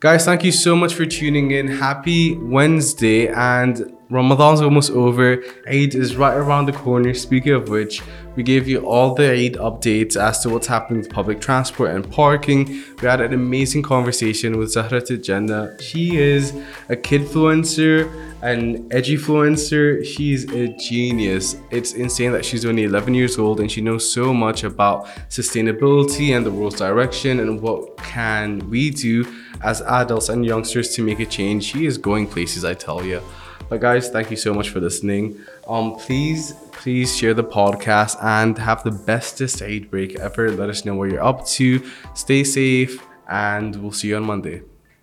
Guys, thank you so much for tuning in. Happy Wednesday, and Ramadan's almost over. Eid is right around the corner. Speaking of which, we gave you all the Eid updates as to what's happening with public transport and parking. We had an amazing conversation with Zahra Jannah. She is a kidfluencer, an edgy-fluencer. She's a genius. It's insane that she's only 11 years old and she knows so much about sustainability and the world's direction and what can we do as adults and youngsters to make a change. She is going places, I tell you. But guys, thank you so much for listening. Please share the podcast and have the bestest Eid break ever. Let us know what you're up to. Stay safe and we'll see you on Monday.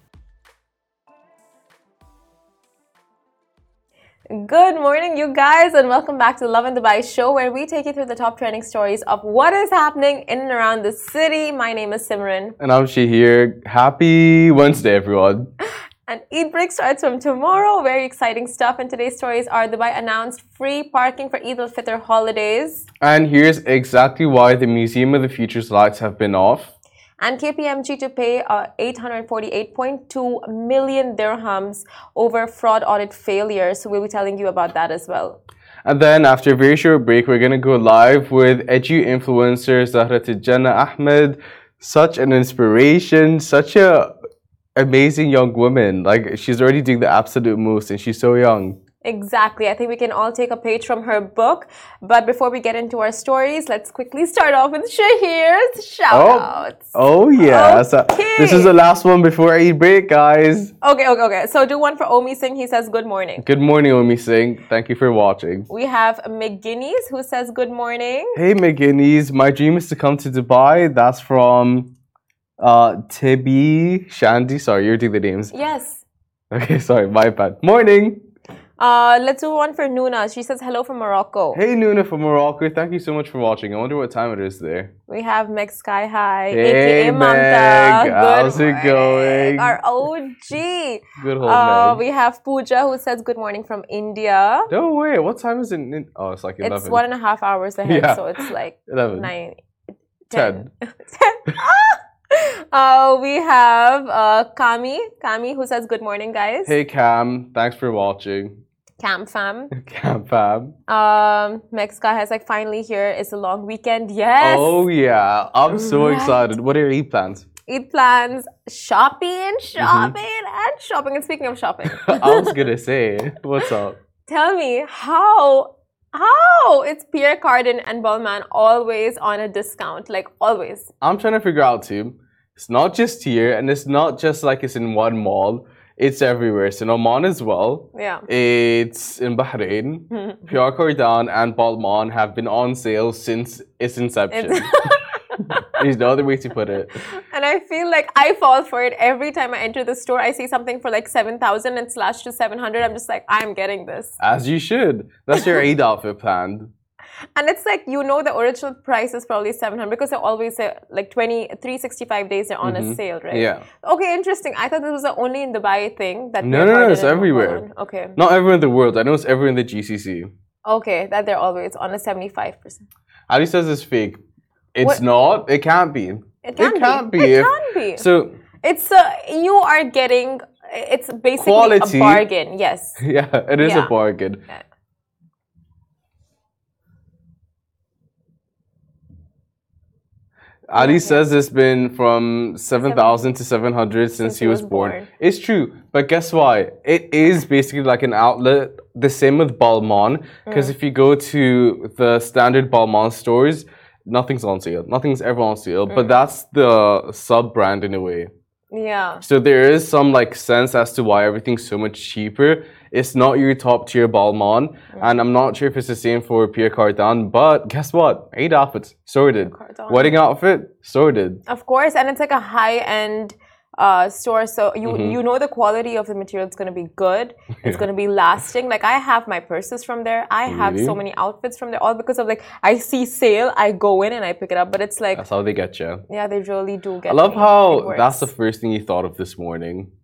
Good morning, you guys, and welcome back to the Love in Dubai show, where we take you through the top trending stories of what is happening in and around the city. My name is Simran. And I'm Shahir. Happy Wednesday, everyone. And Eid break starts from tomorrow. Very exciting stuff. And today's stories are: Dubai announced free parking for Eid al-Fitr holidays. And here's exactly why the Museum of the Future's lights have been off. And KPMG to pay 848.2 million dirhams over fraud audit failure. So we'll be telling you about that as well. And then after a very short break, we're going to go live with edu influencer Zahra Jannah Ahmed. Such an inspiration, such a amazing young woman. Like, she's already doing the absolute most and she's so young. Exactly. I think we can all take a page from her book. But before we get into our stories, let's quickly start off with Shahir's shout-outs. Oh yeah. Okay. So this is the last one before Eid break, guys. Okay. So do one for Omi Singh. He says, good morning. Good morning, Omi Singh. Thank you for watching. We have McGuinness, who says, good morning. Hey, McGuinness. My dream is to come to Dubai. That's from Tibi Shandy. Sorry, you're doing the names. Yes. Okay, sorry, my bad. Morning. Let's do one for Nuna. She says hello from Morocco. Hey, Nuna from Morocco. Thank you so much for watching. I wonder what time it is there. We have Meg Sky High, Hey, aka Meg. Mamta. How's it going? Our OG. Good old Meg. We have Pooja, who says good morning from India. No way. What time is it? Oh, it's like 11. It's 1.5 hours ahead, Yeah. so it's like 11. 9, 10. 10. We have Kami, who says good morning, guys. Hey, Cam. Thanks for watching. Cam fam. Cam fam. Meg Sky has like finally here. It's a long weekend. Yes. Oh, yeah. I'm so excited. What are your Eid plans? Eid plans, shopping. And speaking of shopping, I was going to say, what's up? tell me how it's Pierre Cardin and Balmain always on a discount, like always. I'm trying to figure out too. It's not just here, and it's not just like it's in one mall. It's everywhere. It's in Oman as well. Yeah. It's in Bahrain. Pierre Cardin and Balmain have been on sale since its inception. There's no other way to put it. And I feel like I fall for it every time I enter the store. I see something for like 7,000 and slashed to 700. I'm just like, I'm getting this. As you should. That's your Eid outfit planned. And it's like, the original price is probably 700 because they always say like 365 days they're on a sale, right? Yeah. Okay, interesting. I thought this was the only in Dubai thing. That No, it's everywhere. Okay. Not everywhere in the world. I know it's everywhere in the GCC. Okay, that they're always on a 75%. Ali says it's fake. It's What? not. It can't be. It can't be. If- It can be. So, It's you are getting. It's basically Quality. a bargain. Yes. yeah, it is Yeah. a bargain. Yeah. Ali says it's been from 7,000 to 700 since he was born. It's true, but guess what? It is basically like an outlet. The same with Balmain, because if you go to the standard Balmain stores, nothing's on sale. Nothing's ever on sale, but that's the sub-brand in a way. Yeah. So there is some like sense as to why everything's so much cheaper. It's not your top tier Balmain, and I'm not sure if it's the same for Pierre Cardin, but guess what? Eid outfits, sorted. Cardin. Wedding outfit, sorted. Of course, and it's like a high-end store, so you know the quality of the material is going to be good. It's going to be lasting. Like, I have my purses from there. I have so many outfits from there, all because of like, I see sale, I go in and I pick it up. But it's like, That's how they get you. yeah, they really do get I love me. It how works. that's the first thing you thought of this morning.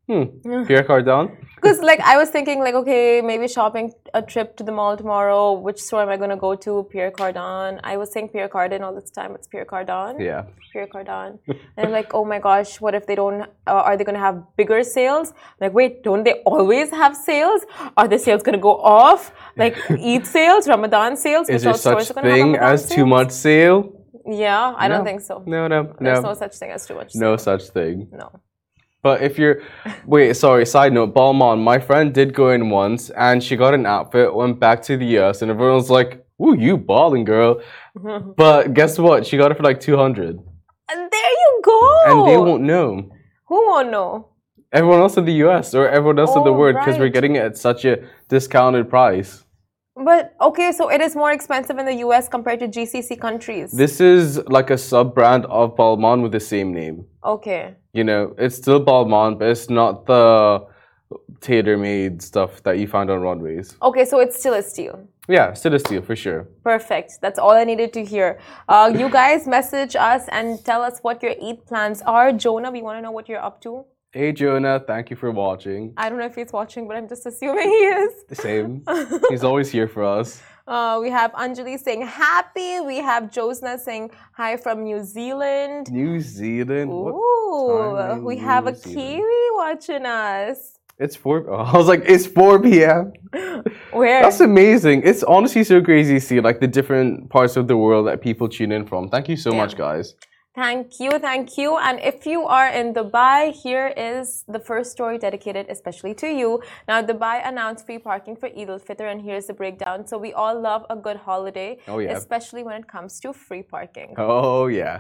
Pierre Cardin? Because like I was thinking like, okay, maybe shopping a trip to the mall tomorrow. Which store am I going to go to? Pierre Cardin. I was saying Pierre Cardin all this time. It's Pierre Cardin. Yeah. Pierre Cardin. And I'm like, oh my gosh, what if they don't, are they going to have bigger sales? Like, wait, don't they always have sales? Are the sales going to go off? Like Eid sales, Ramadan sales? Is there such thing as too much sale? Yeah, I don't think so. No. There's no such thing as too much sale. No such thing. No. But if you're, wait, sorry, side note, Balmain, my friend did go in once and she got an outfit, went back to the US and everyone was like, ooh, you balling girl. But guess what? She got it for like 200. And there you go. And they won't know. Who won't know? Everyone else in the US or everyone else in the world because we're getting it at such a discounted price. But okay, so it is more expensive in the US compared to GCC countries. This is like a sub-brand of Balmain with the same name. Okay. You know, it's still Balmain, but it's not the tailor-made stuff that you find on runways. Okay, so it's still a steal. Yeah, still a steal for sure. Perfect. That's all I needed to hear. You guys message us and tell us what your Eid plans are. Jonah, we want to know what you're up to. Hey Jonah, thank you for watching. I don't know if he's watching, but I'm just assuming he is. The same. He's always here for us. We have Anjali saying happy. We have Josna saying hi from New Zealand. New Zealand? Ooh, we have a Kiwi watching us. It's 4. I was like, it's 4 p.m. Where? That's amazing. It's honestly so crazy to see like the different parts of the world that people tune in from. Thank you so much, guys. Thank you, thank you. And if you are in Dubai, here is the first story dedicated especially to you. Now, Dubai announced free parking for Eid al-Fitr, and here's the breakdown. So we all love a good holiday, especially when it comes to free parking. Oh, yeah.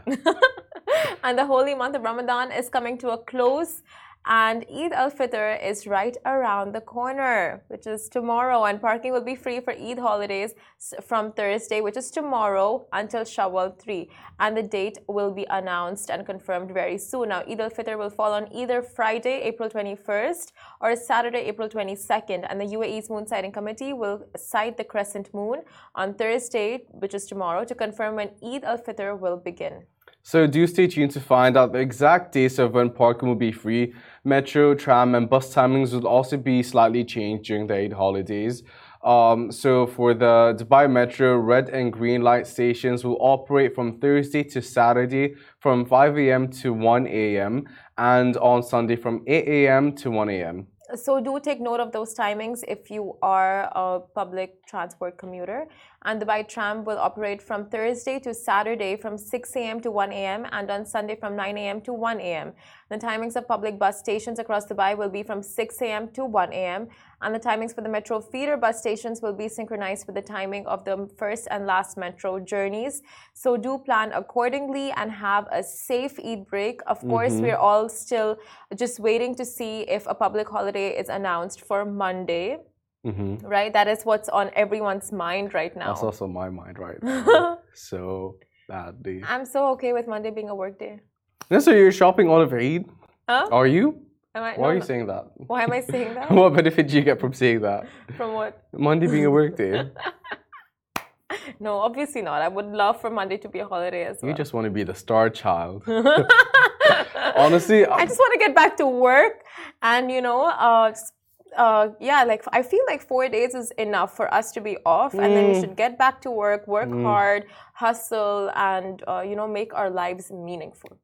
And the holy month of Ramadan is coming to a close. And Eid al-Fitr is right around the corner, which is tomorrow. And parking will be free for Eid holidays from Thursday, which is tomorrow, until Shawwal 3. And the date will be announced and confirmed very soon. Now, Eid al-Fitr will fall on either Friday, April 21st, or Saturday, April 22nd. And the UAE's Moon Sighting Committee will sight the crescent moon on Thursday, which is tomorrow, to confirm when Eid al-Fitr will begin. So do stay tuned to find out the exact dates of when parking will be free. Metro, tram, and bus timings will also be slightly changed during the Eid holidays. So for the Dubai Metro, red and green light stations will operate from Thursday to Saturday from 5 a.m. to 1 a.m. and on Sunday from 8 a.m. to 1 a.m. So do take note of those timings if you are a public transport commuter. And Dubai Tram will operate from Thursday to Saturday from 6 a.m. to 1 a.m. and on Sunday from 9 a.m. to 1 a.m. The timings of public bus stations across Dubai will be from 6 a.m. to 1 a.m. And the timings for the metro feeder bus stations will be synchronized with the timing of the first and last metro journeys. So do plan accordingly and have a safe Eid break. Of course, we're all still just waiting to see if a public holiday is announced for Monday. Right? That is what's on everyone's mind right now. That's also my mind right now. So badly. I'm so okay with Monday being a work day. No, so you're shopping all of Eid? Huh? Are you? Why are you saying that? Why am I saying that? What benefit do you get from saying that? From what? Monday being a work day. No, obviously not. I would love for Monday to be a holiday as well. You just want to be the star child. Honestly, I just want to get back to work and, you know, yeah, like I feel like 4 days is enough for us to be off, and then we should get back to work hard, hustle, and you know, make our lives meaningful.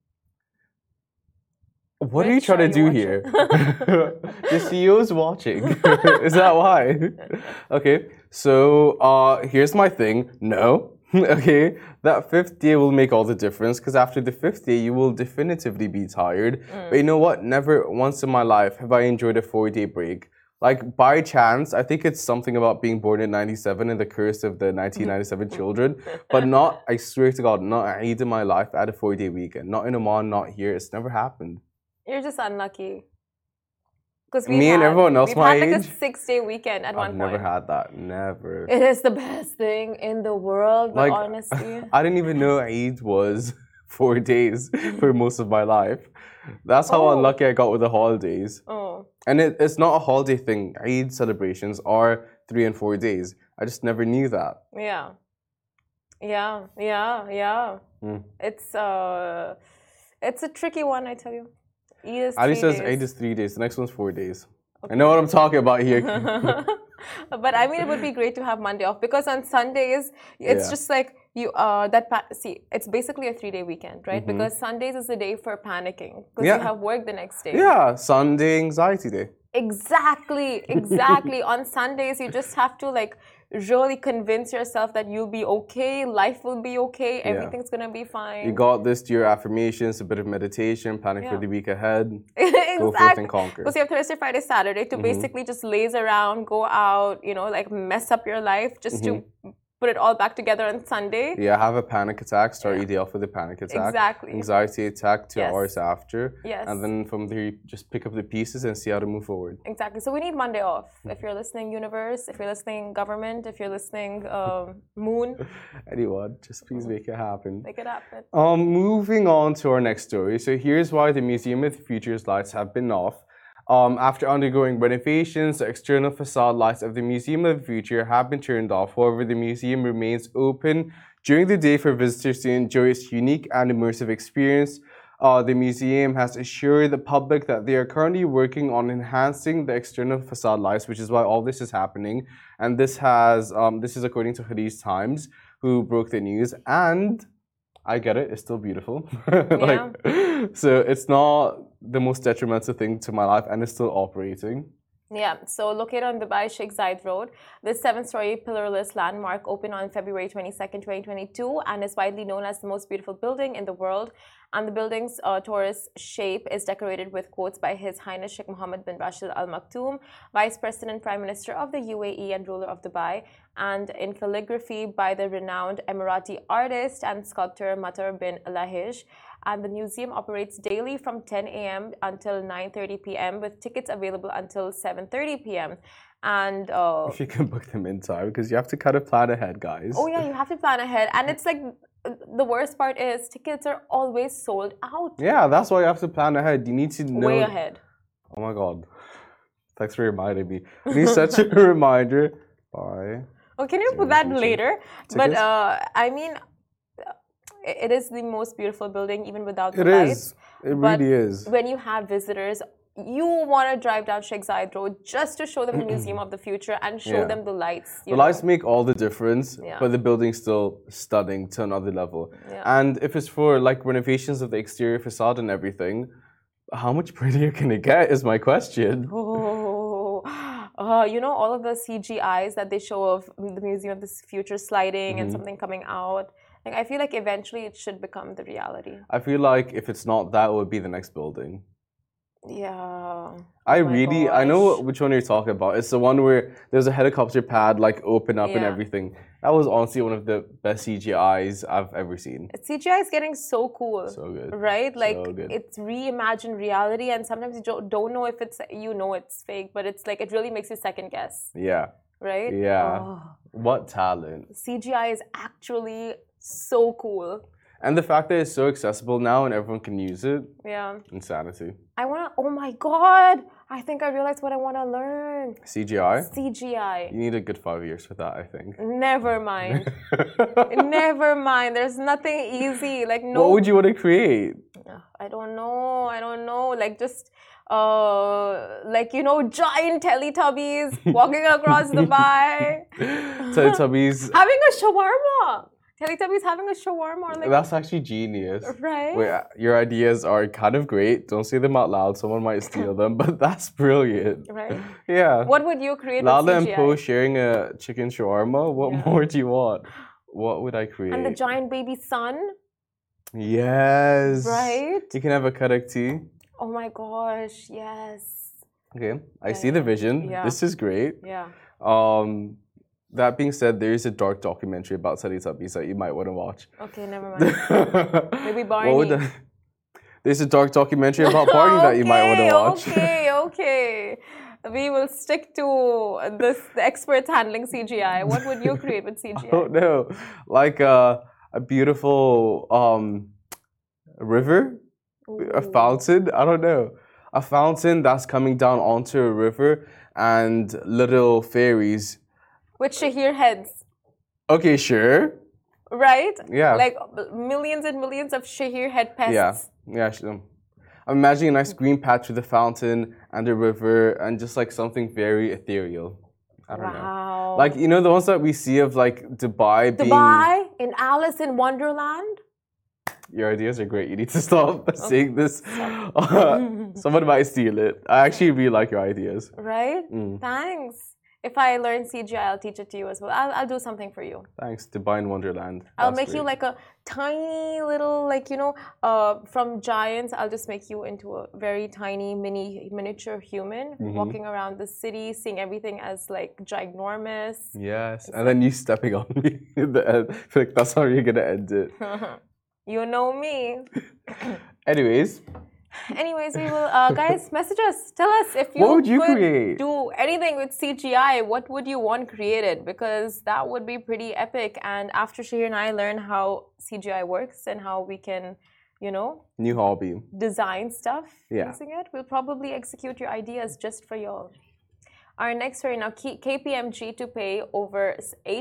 What are you trying to do here? The CEO is watching. Is that why? Okay, so here's my thing. No. Okay, that 5th day will make all the difference, because after the 5th day, you will definitively be tired. But you know what? Never once in my life have I enjoyed a 4-day break. Like, by chance, I think it's something about being born in 97 and the curse of the 1997 children. But not, I swear to God, not a Eid in my life at a 4-day weekend. Not in Oman, not here. It's never happened. You're just unlucky. Because me and everyone else my age, like a 6-day weekend at one point. I've never had that. Never. It is the best thing in the world, but like, honestly. I didn't even know Eid was 4 days for most of my life. That's how unlucky I got with the holidays. And it's not a holiday thing. Eid celebrations are 3 and 4 days. I just never knew that. Yeah. It's a tricky one, I tell you. Eid is Ali 3 says days. Eid is 3 days. The next one's 4 days. Okay. I know what I'm talking about here. But I mean, it would be great to have Monday off because on Sundays, it's just like you, see, it's basically a 3-day weekend, right? Because Sundays is the day for panicking because you have work the next day. Yeah, Sunday anxiety day. Exactly. On Sundays, you just have to like really convince yourself that you'll be okay, life will be okay, everything's gonna be fine. You got this, do your affirmations, a bit of meditation, planning for the week ahead. Exactly. Go forth and conquer. Because you have Thursday, Friday, Saturday to basically just laze around, go out, you know, like mess up your life just to put it all back together on Sunday. Yeah, have a panic attack, start your day off with a panic attack. Exactly. Anxiety attack 2 hours after. Yes. And then from there, you just pick up the pieces and see how to move forward. Exactly. So we need Monday off. If you're listening, universe, if you're listening, government, if you're listening, moon. Anyone, just please make it happen. Make it happen. Moving on to our next story. So here's why the Museum of the Future's lights have been off. After undergoing renovations, the external facade lights of the Museum of the Future have been turned off. However, the museum remains open during the day for visitors to enjoy its unique and immersive experience. The museum has assured the public that they are currently working on enhancing the external facade lights, which is why all this is happening. And this is according to Hadith Times, who broke the news. And I get it, it's still beautiful. So it's not the most detrimental thing to my life, and it's still operating. Yeah, so located on Dubai Sheikh Zayed Road, this 7-story pillarless landmark opened on February 22nd, 2022 and is widely known as the most beautiful building in the world. And the building's torus shape is decorated with quotes by His Highness Sheikh Mohammed bin Rashid Al Maktoum, Vice President Prime Minister of the UAE and ruler of Dubai, and in calligraphy by the renowned Emirati artist and sculptor Matar bin Lahij. And the museum operates daily from 10 a.m. until 9:30 p.m. with tickets available until 7:30 p.m. And if you can book them in time, because you have to kind of plan ahead, guys. Oh yeah, you have to plan ahead, and it's like the worst part is tickets are always sold out. Yeah, that's why you have to plan ahead. You need to know way ahead. Oh my god, thanks for reminding me. I need such a reminder. Bye. Oh, can you put that later? Tickets? But I mean, it is the most beautiful building, even without the lights. It really is. When you have visitors, you want to drive down Sheikh Zayed Road just to show them the Museum of the Future and show them the lights. The lights make all the difference, but the building's still stunning to another level. And if it's for like renovations of the exterior facade and everything, how much prettier can it get is my question. You know, all of the CGIs that they show of the Museum of the Future sliding and something coming out. Like, I feel like eventually it should become the reality. I feel like if it's not that, it would be the next building. Yeah. I know which one you're talking about. It's the one where there's a helicopter pad like open up and everything. That was honestly one of the best CGIs I've ever seen. CGI is getting so cool. So good. Right? Like, so good. It's reimagined reality, and sometimes you don't know if it's, it's fake, but it's like, it really makes you second guess. Yeah. Right? Yeah. Oh. What talent. CGI is actually so cool. And the fact that it's so accessible now and everyone can use it. Yeah. Insanity. Oh my God. I think I realized what I want to learn. CGI? CGI. You need a good 5 years for that, I think. Never mind. Never mind. There's nothing easy. Like, no. What would you want to create? I don't know. Like, just, giant Teletubbies walking across Dubai. Teletubbies. Having a shawarma. Teletubbies having a shawarma. Like, that's actually genius. Right? Wait, your ideas are kind of great. Don't say them out loud. Someone might steal them, but that's brilliant. Right? Yeah. What would you create Lala with CGI? and Po sharing a chicken shawarma? What more do you want? What would I create? And the giant baby sun? Yes. Right? You can have a karak tea. Oh my gosh, yes. Okay, I see the vision. Yeah. This is great. Yeah. That being said, there is a dark documentary about Teletubbies that you might want to watch. Okay, never mind. Maybe Barney. There's a dark documentary about Barney that you might want to watch. Okay. We will stick to the experts handling CGI. What would you create with CGI? I don't know. Like a beautiful river? Ooh. A fountain? I don't know. A fountain that's coming down onto a river and little fairies. With Shahir heads. Okay, sure. Right? Yeah. Like millions and millions of Shahir head pests. Yeah. I'm imagining a nice green patch with a fountain and a river and just like something very ethereal. I don't know. Like, you know, the ones that we see of like Dubai being... Dubai in Alice in Wonderland? Your ideas are great. You need to stop saying this. Someone might steal it. I actually really like your ideas. Right? Thanks. If I learn CGI, I'll teach it to you as well. I'll do something for you. Thanks, Divine Wonderland. I'll make you like a tiny little, like, you know, from giants, I'll just make you into a very tiny miniature human walking around the city, seeing everything as like ginormous. Yes, and then you stepping on me in the end. Like, that's how you're going to end it. You know me. Anyways, we will, guys, message us. Tell us if you create? Do anything with CGI, what would you want created? Because that would be pretty epic. And after Shahir and I learn how CGI works and how we can, you know, new hobby, design stuff using it, we'll probably execute your ideas just for y'all. Our next story now, KPMG to pay over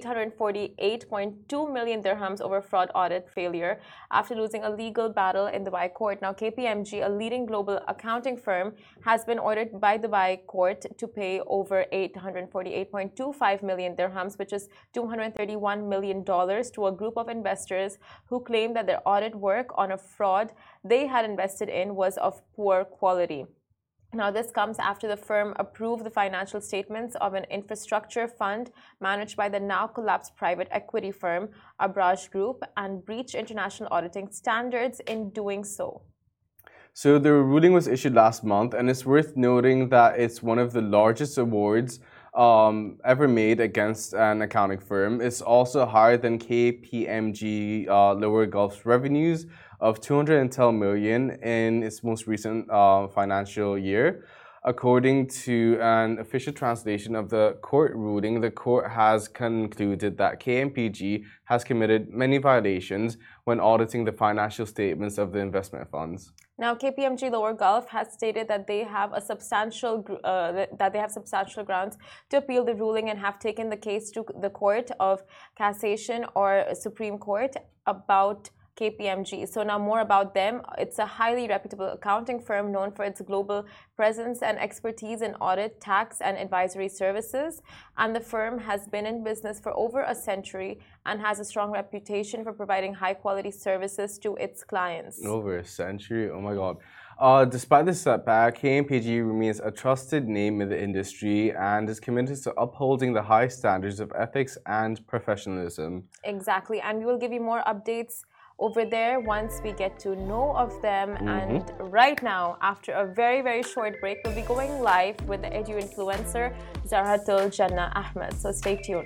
848.2 million dirhams over fraud audit failure after losing a legal battle in Dubai court. Now, KPMG, a leading global accounting firm, has been ordered by Dubai court to pay over 848.25 million dirhams, which is $231 million, to a group of investors who claimed that their audit work on a fraud they had invested in was of poor quality. Now, this comes after the firm approved the financial statements of an infrastructure fund managed by the now collapsed private equity firm Abraj Group and breached international auditing standards in doing so. So the ruling was issued last month, and it's worth noting that it's one of the largest awards ever made against an accounting firm. It's also higher than KPMG Lower Gulf's revenues of 210 million in its most recent financial year. According to an official translation of the court ruling, the court has concluded that KPMG has committed many violations when auditing the financial statements of the investment funds. Now, KPMG Lower Gulf has stated that they have substantial grounds to appeal the ruling and have taken the case to the Court of Cassation or Supreme Court about KPMG. So now more about them. It's a highly reputable accounting firm known for its global presence and expertise in audit, tax, and advisory services. And the firm has been in business for over a century and has a strong reputation for providing high-quality services to its clients. Over a century? Oh my God. Despite this setback, KPMG remains a trusted name in the industry and is committed to upholding the high standards of ethics and professionalism. Exactly. And we will give you more updates over there once we get to know of them. And right now, after a very, very short break, we'll be going live with the edu influencer Zahratul Jannah Ahmed. So stay tuned.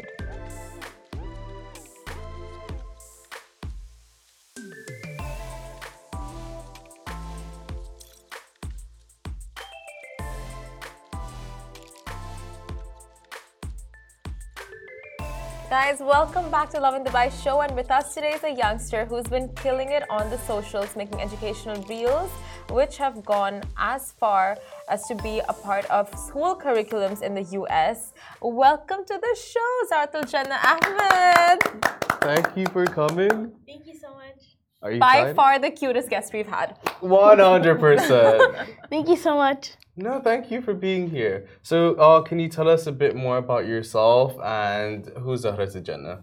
Guys, welcome back to Lovin Dubai show, and with us today is a youngster who's been killing it on the socials, making educational reels which have gone as far as to be a part of school curriculums in the US. Welcome to the show, Zahratul Jannah Ahmed. Thank you for coming. Thank you so much. Are you By excited? far the cutest guest we've had. 100%. Thank you so much. No, thank you for being here. So, can you tell us a bit more about yourself and who's Zahratul Jannah?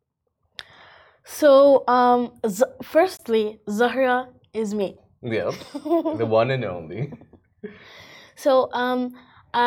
So, firstly, Zahra is me. Yep, the one and only. So, I'm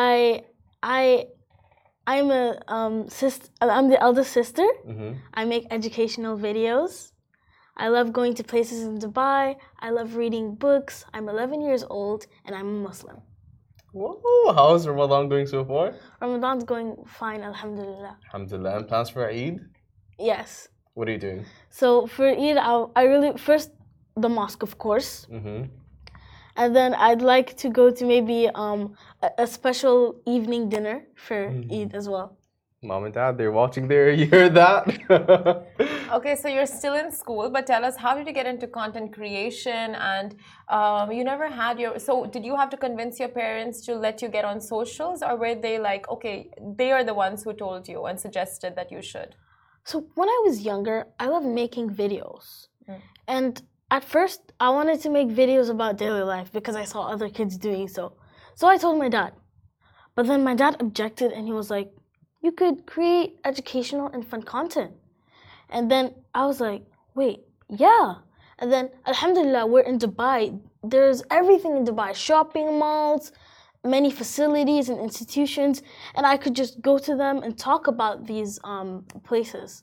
the eldest sister. I make educational videos. I love going to places in Dubai. I love reading books. I'm 11 years old and I'm a Muslim. Whoa, how's Ramadan going so far? Ramadan's going fine, alhamdulillah. Alhamdulillah. And plans for Eid? Yes. What are you doing? So for Eid, first the mosque, of course. And then I'd like to go to maybe a special evening dinner for Eid as well. Mom and Dad, they're watching there. You heard that? Okay, so you're still in school, but tell us, how did you get into content creation? And you never had so did you have to convince your parents to let you get on socials, or were they like, okay, they are the ones who told you and suggested that you should? So when I was younger, I loved making videos. And at first, I wanted to make videos about daily life because I saw other kids doing so. So I told my dad. But then my dad objected and he was like, you could create educational and fun content. And then I was like, wait, yeah. And then, alhamdulillah, we're in Dubai. There's everything in Dubai, shopping malls, many facilities and institutions, and I could just go to them and talk about these places.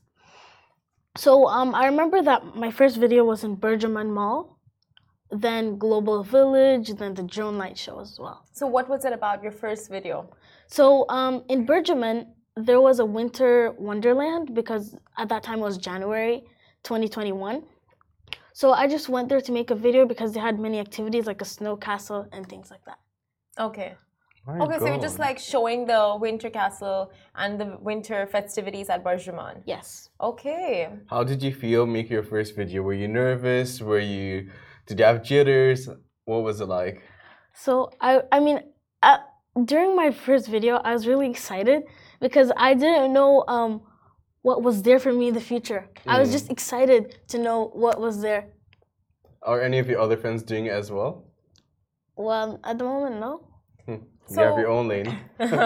So I remember that my first video was in Berjaman Mall, then Global Village, then the Drone Light Show as well. So what was it about, your first video? So in Berjaman, there was a winter wonderland because at that time it was January 2021. So I just went there to make a video because they had many activities like a snow castle and things like that. Okay. My So you're just God. like showing the winter castle and the winter festivities at Berjaman. Yes. Okay. How did you feel making your first video? Were you nervous? Did you have jitters? What was it like? So I mean, during my first video, I was really excited because I didn't know what was there for me in the future. I was just excited to know what was there. Are any of your other friends doing it as well? Well, at the moment, no. You have your own lane.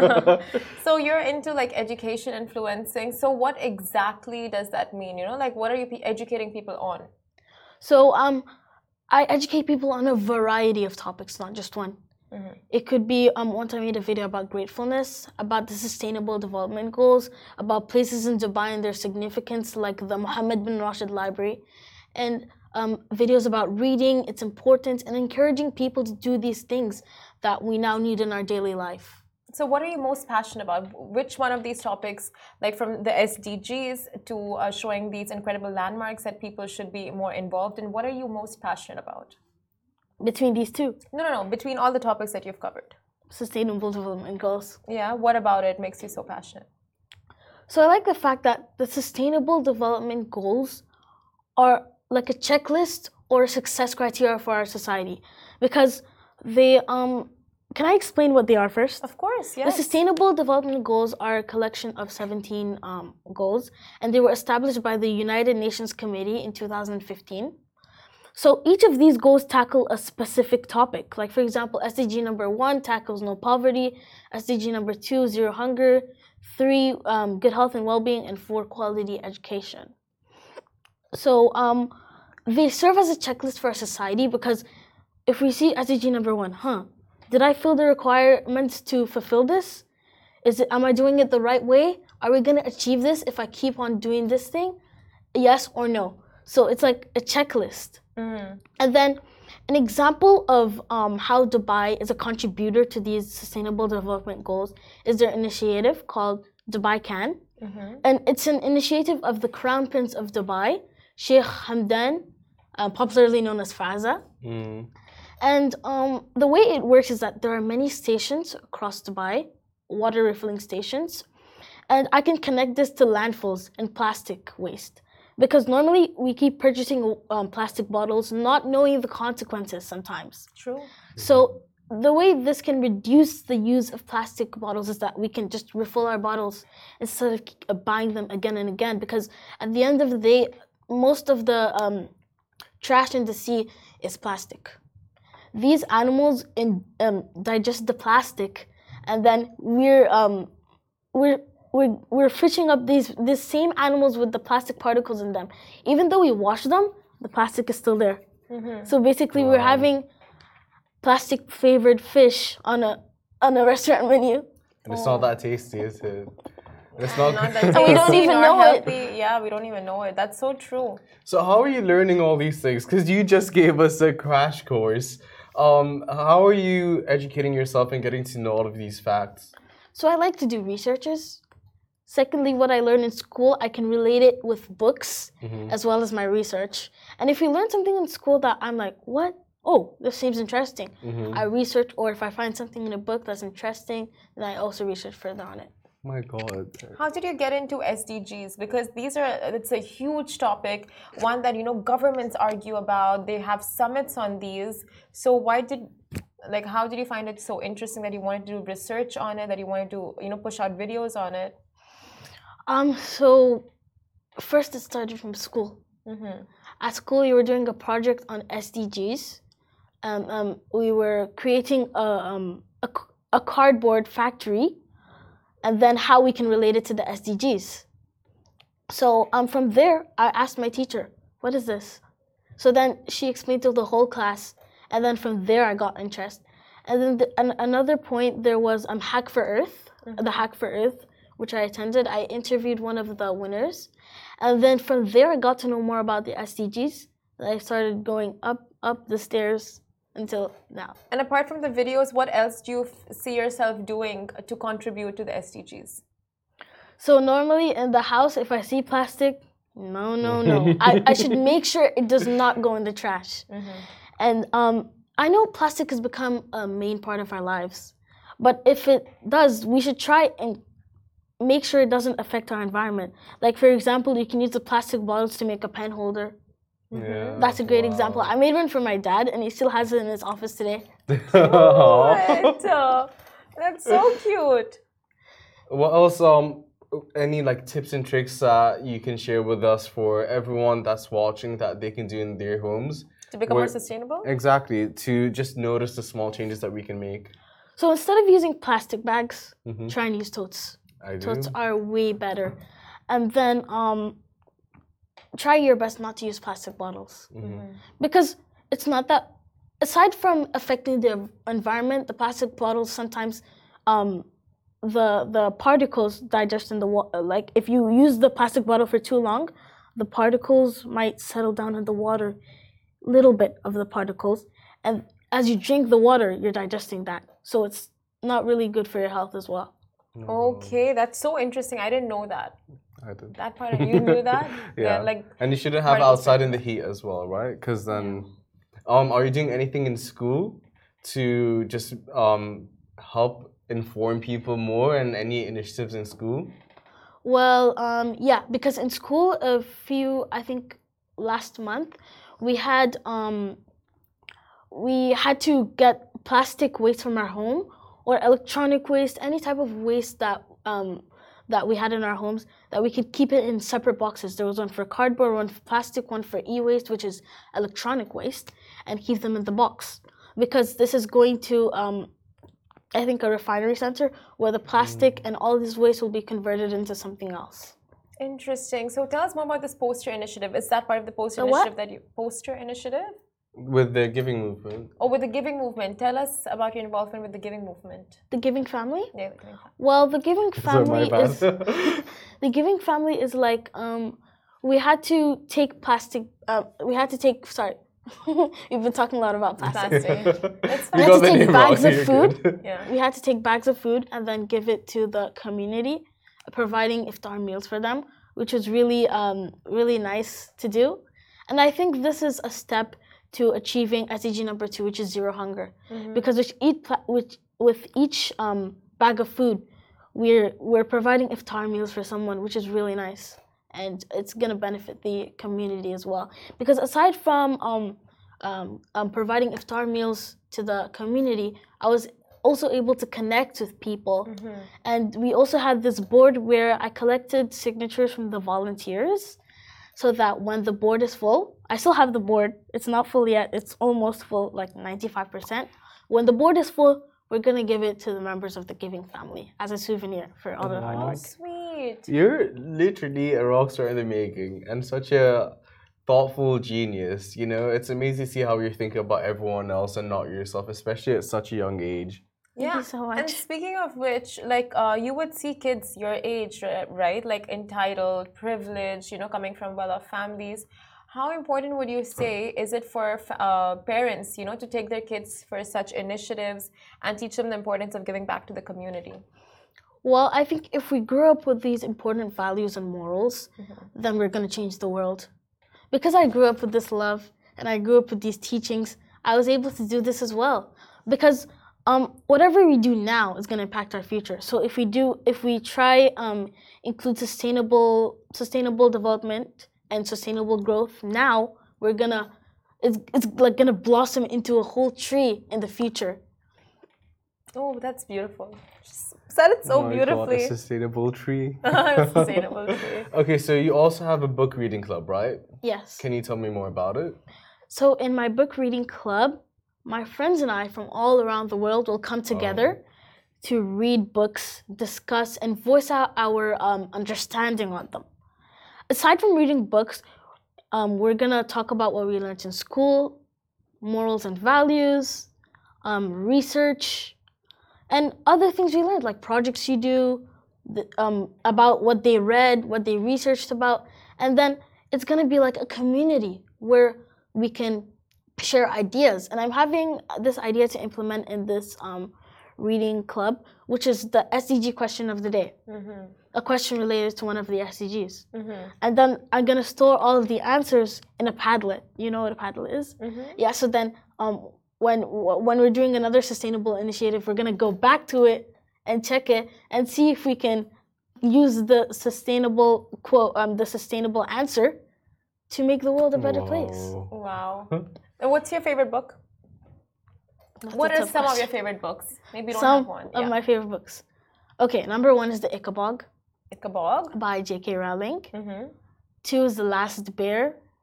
So you're into like education influencing. So what exactly does that mean? You know, like what are you educating people on? So I educate people on a variety of topics, not just one. It could be once I made a video about gratefulness, about the Sustainable Development Goals, about places in Dubai and their significance, like the Mohammed bin Rashid Library, and videos about reading, its importance, and encouraging people to do these things that we now need in our daily life. So what are you most passionate about? Which one of these topics, like from the SDGs to showing these incredible landmarks that people should be more involved in, what are you most passionate about? Between these two, No. Between all the topics that you've covered. Sustainable Development Goals. Yeah, what about it makes you so passionate? So I like the fact that the Sustainable Development Goals are like a checklist or a success criteria for our society because they can I explain what they are first? Of course, The yes. Sustainable Development Goals are a collection of 17 goals, and they were established by the United Nations Committee in 2015. So each of these goals tackle a specific topic. Like for example, SDG number 1 tackles no poverty, SDG number 2, zero hunger, 3, good health and well-being, and 4, quality education. So they serve as a checklist for our society because if we see SDG number 1, did I fill the requirements to fulfill this? Am I doing it the right way? Are we going to achieve this if I keep on doing this thing? Yes or no? So it's like a checklist. And then an example of how Dubai is a contributor to these Sustainable Development Goals is their initiative called Dubai Can. And it's an initiative of the Crown Prince of Dubai, Sheikh Hamdan, popularly known as Faza. And the way it works is that there are many stations across Dubai, water refilling stations, and I can connect this to landfills and plastic waste. Because normally we keep purchasing plastic bottles, not knowing the consequences sometimes. True. So the way this can reduce the use of plastic bottles is that we can just refill our bottles instead of buying them again and again. Because at the end of the day, most of the trash in the sea is plastic. These animals digest the plastic, and then we're fishing up these same animals with the plastic particles in them. Even though we wash them, the plastic is still there. So basically, we're having plastic flavored fish on a restaurant menu. And it's not that tasty, is it? It's not. Not that And we don't tasty even nor know it. healthy. Yeah, we don't even know it. That's so true. So how are you learning all these things? Because you just gave us a crash course. How are you educating yourself and getting to know all of these facts? So I like to do researches. Secondly, what I learn in school, I can relate it with books as well as my research. And if you learn something in school that I'm like, what? Oh, this seems interesting. I research, or if I find something in a book that's interesting, then I also research further on it. My God. How did you get into SDGs? Because it's a huge topic, one that, governments argue about. They have summits on these. So how did you find it so interesting that you wanted to do research on it, that you wanted to, push out videos on it? So first it started from school. at school we were doing a project on SDGs. We were creating a cardboard factory, and then how we can relate it to the SDGs. So from there, I asked my teacher, "What is this?" So then she explained to the whole class, and then from there I got interest. And then another point, there was Hack for Earth, the Hack for Earth, which I attended. I interviewed one of the winners, and then from there I got to know more about the SDGs. I started going up the stairs until now. And apart from the videos, what else do you see yourself doing to contribute to the SDGs? So normally in the house, if I see plastic, no. I should make sure it does not go in the trash. And I know plastic has become a main part of our lives, but if it does, we should try and make sure it doesn't affect our environment. Like for example, you can use the plastic bottles to make a pen holder. Yeah, That's a great example. I made one for my dad, and he still has it in his office today. What? That's so cute. What else? Any like tips and tricks that you can share with us for everyone that's watching that they can do in their homes To become more sustainable? Exactly. To just notice the small changes that we can make. So instead of using plastic bags, try and use totes. Totes are way better. And then try your best not to use plastic bottles. Because it's not that, aside from affecting the environment, the plastic bottles sometimes the particles digest in the water. Like if you use the plastic bottle for too long, the particles might settle down in the water, little bit of the particles, and as you drink the water, you're digesting that. So it's not really good for your health as well. Okay, that's so interesting. I didn't know that. I did. That part, you knew that? Yeah. Like, and you shouldn't have outside in the heat as well, right? Because then, are you doing anything in school to just help inform people more, and any initiatives in school? Well, yeah, because in school, I think last month, we had to get plastic waste from our home, or electronic waste, any type of waste that we had in our homes, that we could keep it in separate boxes. There was one for cardboard, one for plastic, one for e-waste, which is electronic waste, and keep them in the box. Because this is going to, I think, a refinery center where the plastic and all this waste will be converted into something else. Interesting. So tell us more about this poster initiative. Is that part of the poster initiative? With the giving movement. Oh, with the giving movement. Tell us about your involvement with the giving movement. The Giving Family? Yeah, the Giving Family. Well, the Giving Family is the Giving Family is like we had to take we've been talking a lot about plastic. It's We fine. had to take bags of food. Yeah. We had to take bags of food and then give it to the community, providing iftar meals for them, which was really really nice to do. And I think this is a step to achieving SDG number 2, which is zero hunger. Because with each bag of food, we're providing iftar meals for someone, which is really nice, and it's gonna benefit the community as well. Because aside from providing iftar meals to the community, I was also able to connect with people, and we also had this board where I collected signatures from the volunteers, so that when the board is full, I still have the board. It's not full yet. It's almost full, like 95%. When the board is full, we're gonna give it to the members of the Giving Family as a souvenir for all the hard work. Sweet. You're literally a rock star in the making, and such a thoughtful genius. You know, it's amazing to see how you're thinking about everyone else and not yourself, especially at such a young age. Thank you so much. And speaking of which, like you would see kids your age, right? Like entitled, privileged, coming from well-off families. How important would you say is it for parents, to take their kids for such initiatives and teach them the importance of giving back to the community? Well, I think if we grew up with these important values and morals, then we're going to change the world. Because I grew up with this love and I grew up with these teachings, I was able to do this as well. Because whatever we do now is going to impact our future. So if we try include sustainable development and sustainable growth now, it's like gonna blossom into a whole tree in the future. Oh, that's beautiful. said it so Oh my God, beautifully. a sustainable tree. Sustainable tree. Okay, so you also have a book reading club, right? Yes. Can you tell me more about it? So in my book reading club, my friends and I from all around the world will come together to read books, discuss, and voice out our understanding on them. Aside from reading books, we're gonna talk about what we learned in school, morals and values, research, and other things we learned, like projects you do, about what they read, what they researched about, and then it's gonna be like a community where we can share ideas. And I'm having this idea to implement in this reading club, which is the SDG question of the day. A question related to one of the SDGs. And then I'm gonna store all of the answers in a Padlet. You know what a Padlet is? Yeah, so then when we're doing another sustainable initiative, we're gonna go back to it and check it and see if we can use the sustainable quote, the sustainable answer to make the world a better place. Wow. And what's your favorite book? What are some of your favorite books? Maybe you don't have one. Some of my favorite books. Okay, number 1 is The Ichabog. Ichabog? By J.K. Rowling. 2 is The Last Bear.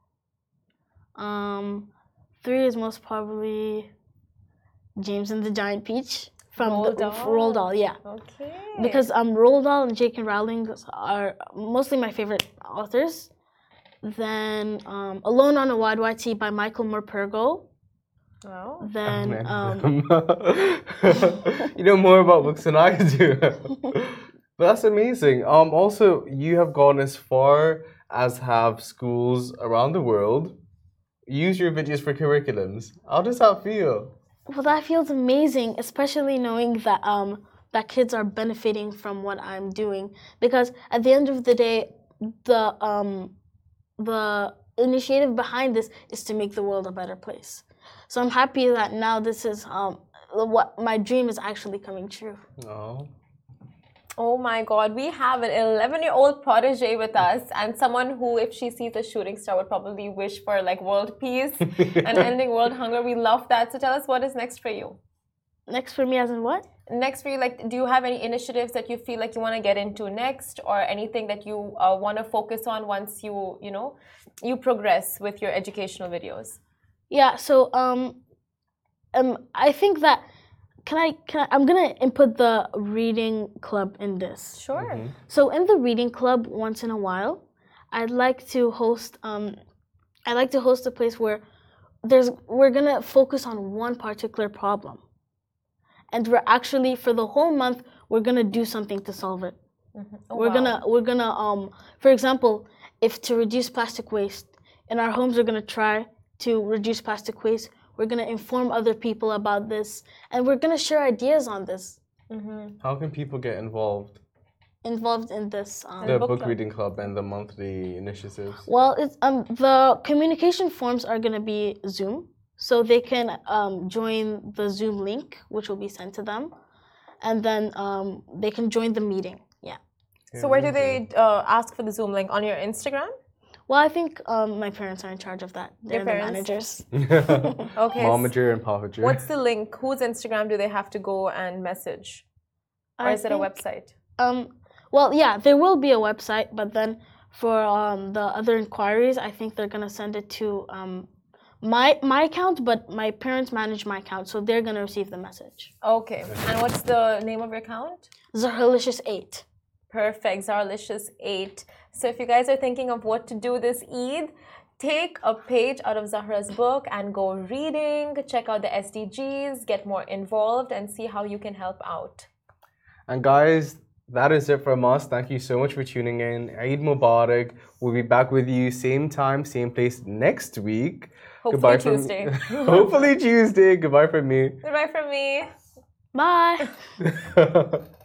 3 is most probably James and the Giant Peach from Roald Dahl. Yeah. Okay. Because Roald Dahl and J.K. Rowling are mostly my favorite authors. Then Alone on a Wide Wide Sea by Michael Morpurgo. Oh. Then you know more about books than I do. But that's amazing. Also, you have gone as far as have schools around the world use your videos for curriculums. How does that feel? Well, that feels amazing, especially knowing that that kids are benefiting from what I'm doing. Because at the end of the day, the initiative behind this is to make the world a better place. So I'm happy that now this is what my dream is actually coming true. Oh my God, we have an 11-year-old protege with us, and someone who, if she sees a shooting star, would probably wish for like world peace and ending world hunger. We love that. So tell us, what is next for you? Next for me as in what? Next for you, like, do you have any initiatives that you feel like you want to get into next, or anything that you want to focus on once you progress with your educational videos? Yeah, so I think that I'm gonna input the reading club in this. Sure. So in the reading club, once in a while, I'd like to host a place where we're gonna focus on one particular problem, and we're actually for the whole month we're gonna do something to solve it. We're gonna for example, if to reduce plastic waste in our homes, we're gonna try to reduce plastic waste. We're going to inform other people about this, and we're going to share ideas on this. How can people get involved In this the book reading club and the monthly initiatives? Well, it's the communication forms are going to be Zoom, so they can join the Zoom link, which will be sent to them, and then they can join the meeting. Yeah. So where do they ask for the Zoom link? On your Instagram? Well, I think my parents are in charge of that. They're the managers. Okay. Momager and Papager. What's the link? Whose Instagram do they have to go and message? Or is it a website? Well, yeah, there will be a website, but then for the other inquiries, I think they're going to send it to my account, but my parents manage my account, so they're going to receive the message. Okay. And what's the name of your account? Zahralicious8. Perfect, Zahralicious8. So if you guys are thinking of what to do this Eid, take a page out of Zahra's book and go reading, check out the SDGs, get more involved, and see how you can help out. And guys, that is it from us. Thank you so much for tuning in. Eid Mubarak. We'll be back with you same time, same place next week. Hopefully Tuesday. Hopefully Tuesday. Goodbye from me. Goodbye from me. Bye.